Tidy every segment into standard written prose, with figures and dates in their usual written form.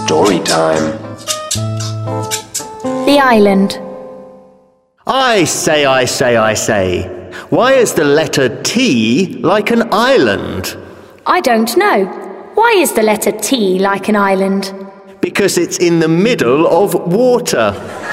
Story time. The Island. I say. Why is the letter T like an island? I don't know. Why is the letter T like an island? Because it's in the middle of water.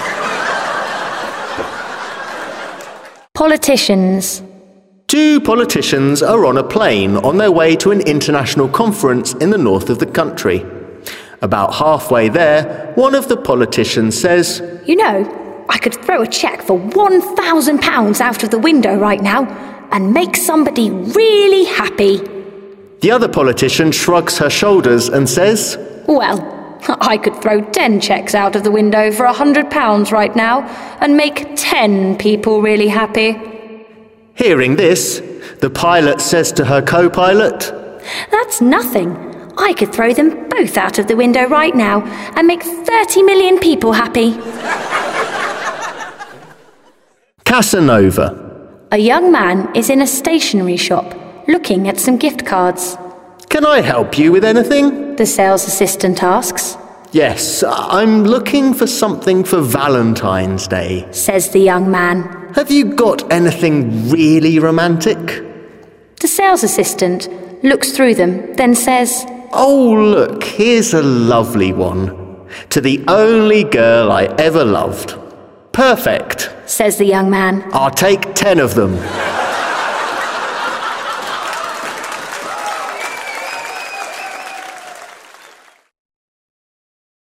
Politicians. Two politicians are on a plane on their way to an international conference in the north of the country. About halfway there, one of the politicians says, You know, I could throw a cheque for £1,000 out of the window right now and make somebody really happy. The other politician shrugs her shoulders and says, Well, I could throw 10 cheques out of the window for £100 right now and make 10 people really happy. Hearing this, the pilot says to her co-pilot, That's nothing. I could throw them both out of the window right now and make 30 million people happy. Casanova. A young man is in a stationery shop looking at some gift cards. Can I help you with anything? The sales assistant asks. Yes, I'm looking for something for Valentine's Day, Says the young man. Have you got anything really romantic? The sales assistant looks through them, then says, Oh, look, here's a lovely one. To the only girl I ever loved. Perfect. Says the young man. I'll take 10 of them.